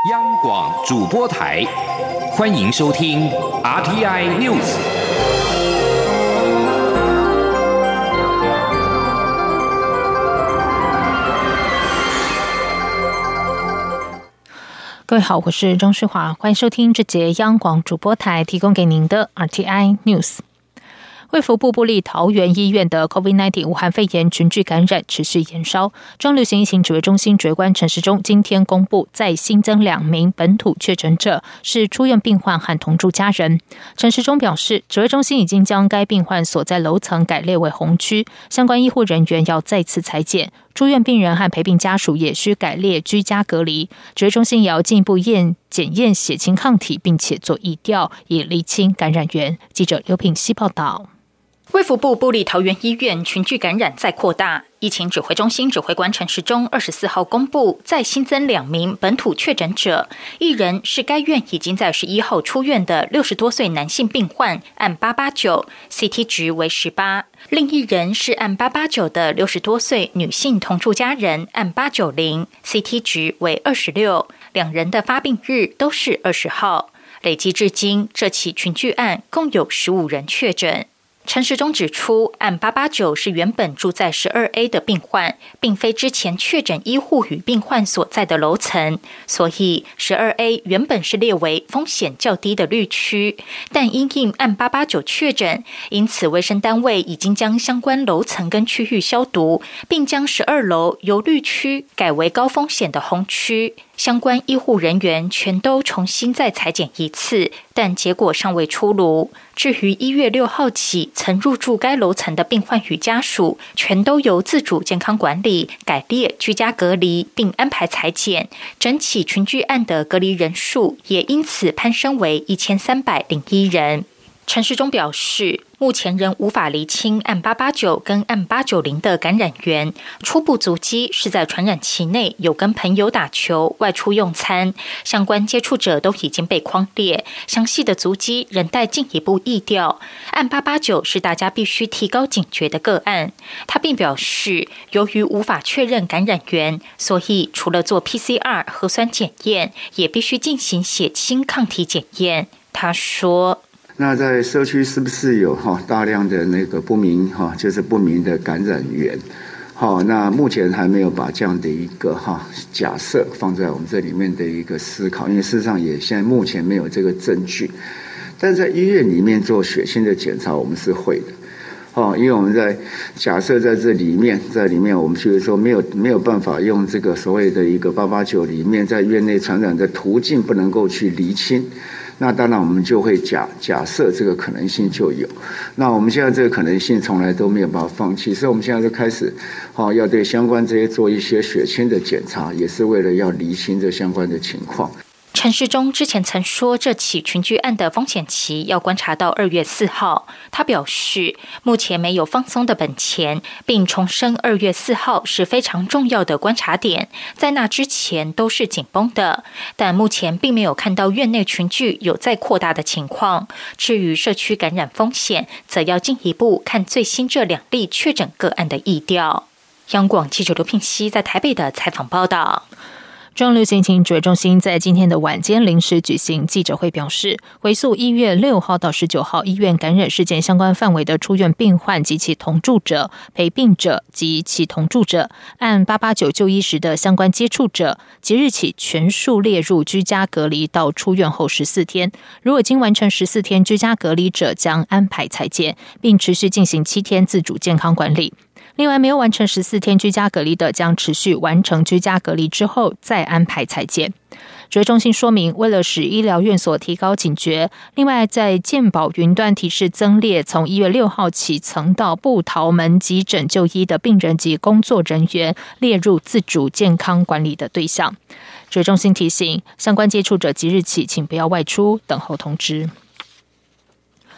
央广主播台，欢迎收听 RTI News。 各位好，我是张世华，欢迎收听这节央广主播台提供给您的 RTI News。卫福部部立桃园医院的 COVID-19 武汉肺炎群聚感染持续延烧，中央流行疫情指挥中心指挥官陈时中今天公布，再新增2名本土确诊者，是出院病患和同住家人。陈时中表示，指挥中心已经将该病患所在楼层改列为红区，相关医护人员要再次采检，住院病人和陪病家属也需改列居家隔离。指挥中心也要进一步检验血清抗体，并且做疫调，以厘清感染源。记者刘品希报道。 卫福部部立桃园医院群聚感染再扩大，疫情指挥中心指挥官陈时中24号公布，再新增2名本土确诊者，一人是该院已经在11号出院的60多岁男性病患，按889 CT 值为18，另一人是按889的60多岁女性同住家人，按890 CT 值为26，两人的发病日都是20号，累计至今这起群聚案共有15人确诊。陈时中指出，按889是原本住在12A 的病患，并非之前确诊医护与病患所在的楼层，所以12A 原本是列为风险较低的绿区，但因应按889确诊，因此卫生单位已经将相关楼层跟区域消毒，并将12楼由绿区改为高风险的红区。相关医护人员全都重新再采检一次，但结果尚未出炉。至于1月6号起曾入住该楼层的病患与家属，全都由自主健康管理改列居家隔离，并安排采检。整起群聚案的隔离人数也因此攀升为1301人。陈时中表示，目前仍无法厘清按889跟按890的感染源，初步足迹是在传染期内有跟朋友打球、外出用餐，相关接触者都已经被匡列，详细的足迹仍待进一步疫调。按889是大家必须提高警觉的个案。他并表示，由于无法确认感染源，所以除了做 PCR 核酸检验，也必须进行血清抗体检验。他说， 那在社区是不是有大量的那个不明就是不明的感染源？那目前还没有把这样的一个假设放在我们这里面的一个思考，因为事实上也现在目前没有这个证据。但在医院里面做血清的检查，我们是会的。因为我们在假设在里面我们就是说没有办法用这个所谓的一个889里面在院内传染的途径不能够去厘清。那当然我们就会假设这个可能性就有，那我们现在这个可能性从来都没有办法放弃，所以我们现在就开始要对相关这些做一些血清的检查，也是为了要厘清这相关的情况。 陈时中之前曾说，这起群聚案的风险期要观察到2月4号。他表示，目前没有放松的本钱，并重申2月4号是非常重要的观察点，在那之前都是紧绷的。但目前并没有看到院内群聚有再扩大的情况。至于社区感染风险，则要进一步看最新这2例确诊个案的疫调。央广记者刘聘熙在台北的采访报道。 中央流行疫情指挥中心在今天的晚间临时举行记者会，表示回溯1月6号到19号医院感染事件相关范围的出院病患及其同住者、陪病者及其同住者，按889就医时的相关接触者，即日起全数列入居家隔离到出院后14天。如果经完成14天居家隔离者，将安排采检，并持续进行7天自主健康管理。另外，没有完成14天居家隔离的，将持续完成居家隔离之后再安排采检。指挥中心说明，为了使医疗院所提高警觉，另外在健保云端提示增列从1月6号起曾到部桃门急诊就医的病人及工作人员列入自主健康管理的对象。指挥中心提醒，相关接触者即日起请不要外出，等候通知。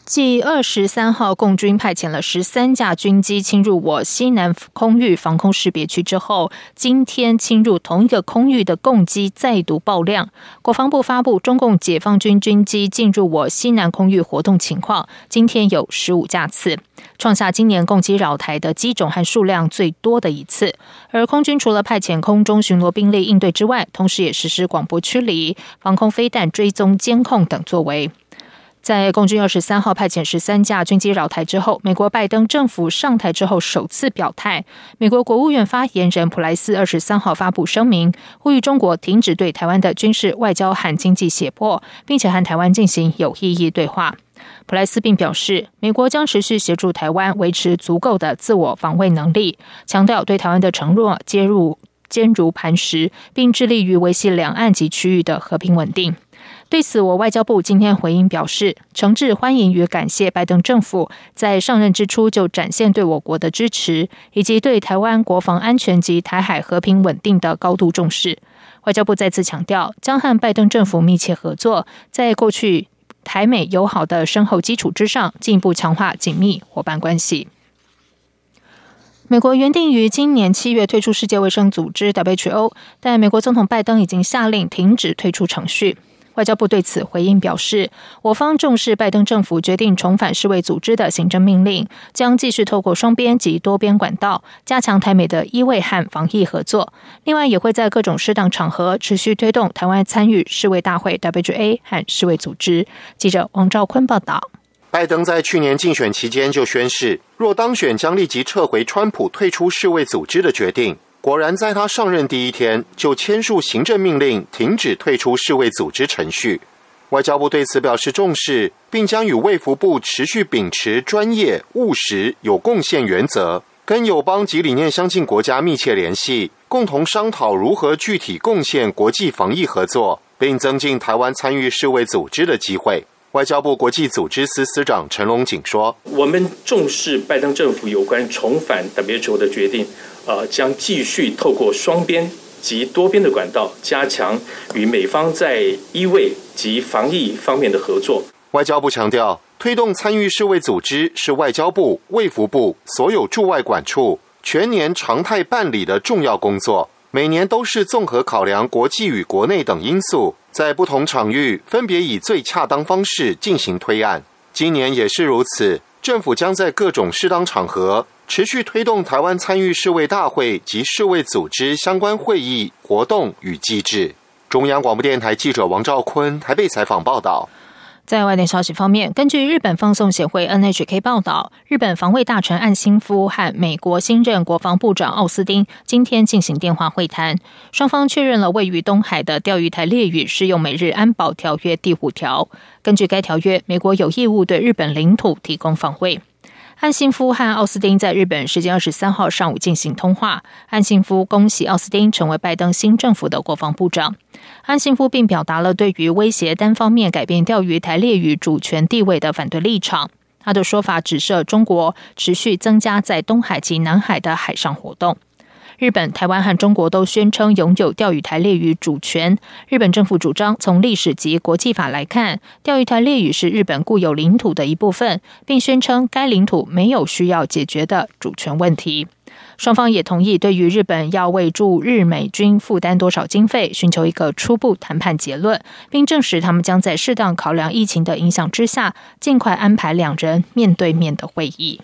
继23号共军派遣了13架军机侵入我西南空域防空识别区之后，今天侵入同一个空域的共机再度爆量。国防部发布中共解放军军机进入我西南空域活动情况，今天有15架次，创下今年共机扰台的机种和数量最多的一次。而空军除了派遣空中巡逻兵力应对之外，同时也实施广播驱离、防空飞弹追踪监控等作为。在共军23号派遣13架军机扰台之后，美国拜登政府上台之后首次表态。美国国务院发言人普莱斯23号发布声明，呼吁中国停止对台湾的军事、外交和经济胁迫，并且和台湾进行有意义对话。普莱斯并表示，美国将持续协助台湾维持足够的自我防卫能力，强调对台湾的承诺坚如磐石，并致力于维系两岸及区域的和平稳定。对此，我外交部今天回应表示，诚挚欢迎与感谢拜登政府在上任之初就展现对我国的支持，以及对台湾国防安全及台海和平稳定的高度重视。外交部再次强调，将和拜登政府密切合作，在过去台美友好的深厚基础之上，进一步强化紧密伙伴关系。美国原定于今年7月退出世界卫生组织 WHO， 但美国总统拜登已经下令停止退出程序。外交部对此回应表示，我方重视拜登政府决定重返世卫组织的行政命令，将继续透过双边及多边管道加强台美的医卫和防疫合作。另外，也会在各种适当场合持续推动台湾参与世卫大会 WHA 和世卫组织。记者王兆坤报道。 拜登在去年竞选期间就宣示，若当选将立即撤回川普退出世卫组织的决定。果然在他上任第一天就签署行政命令，停止退出世卫组织程序。外交部对此表示重视，并将与卫福部持续秉持专业、务实、有贡献原则，跟友邦及理念相近国家密切联系，共同商讨如何具体贡献国际防疫合作，并增进台湾参与世卫组织的机会。外交部国际组织司司长陈龙锦说， 我们重视拜登政府有关重返 WHO 的决定，将继续透过双边及多边的管道，加强与美方在医卫及防疫方面的合作。 外交部强调，推动参与世卫组织是外交部、卫福部所有驻外管处全年常态办理的重要工作，每年都是综合考量国际与国内等因素，在不同场域分别以最恰当方式进行推案。今年也是如此，政府将在各种适当场合持续推动台湾参与世卫大会及世卫组织相关会议、活动与机制。中央广播电台记者王兆坤台北采访报道。 在外电消息方面，根据日本放送协会 NHK 报道，日本防卫大臣岸信夫和美国新任国防部长奥斯汀今天进行电话会谈，双方确认了位于东海的钓鱼台列屿适用美日安保条约第5条。根据该条约，美国有义务对日本领土提供防卫。岸信夫和奥斯汀在日本时间23号上午进行通话，岸信夫恭喜奥斯汀成为拜登新政府的国防部长。岸信夫并表达了对于威胁单方面改变钓鱼台列屿主权地位的反对立场。他的说法指涉中国持续增加在东海及南海的海上活动。日本、台湾和中国都宣称拥有钓鱼台列屿主权。日本政府主张，从历史及国际法来看，钓鱼台列屿是日本固有领土的一部分，并宣称该领土没有需要解决的主权问题。双方也同意对于日本要为驻日美军负担多少经费，寻求一个初步谈判结论，并证实他们将在适当考量疫情的影响之下，尽快安排两人面对面的会议。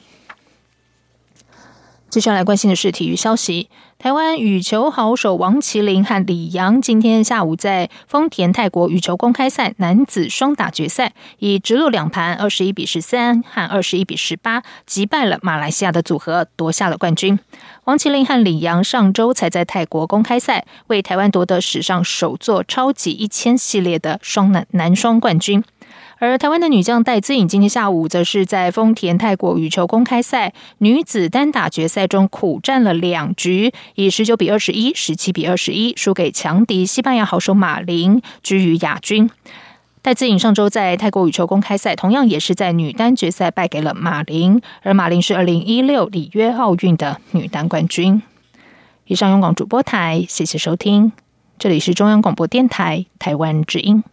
接下来关心的是体育消息。台湾羽球好手王麒麟和李洋今天下午在丰田泰国羽球公开赛男子双打决赛，以直落两盘21-13和21-18击败了马来西亚的组合，夺下了冠军。王麒麟和李洋上周才在泰国公开赛为台湾夺得史上首座超级1000系列的男双冠军。而台湾的女将戴资颖今天下午则是在丰田泰国羽球公开赛女子单打决赛中苦战了2局，以19-21、17-21输给强敌西班牙好手马林，居于亚军。戴资颖上周在泰国羽球公开赛同样也是在女单决赛败给了马林，而马林是2016里约奥运的女单冠军。以上中广主播台，谢谢收听，这里是中央广播电台台湾之音。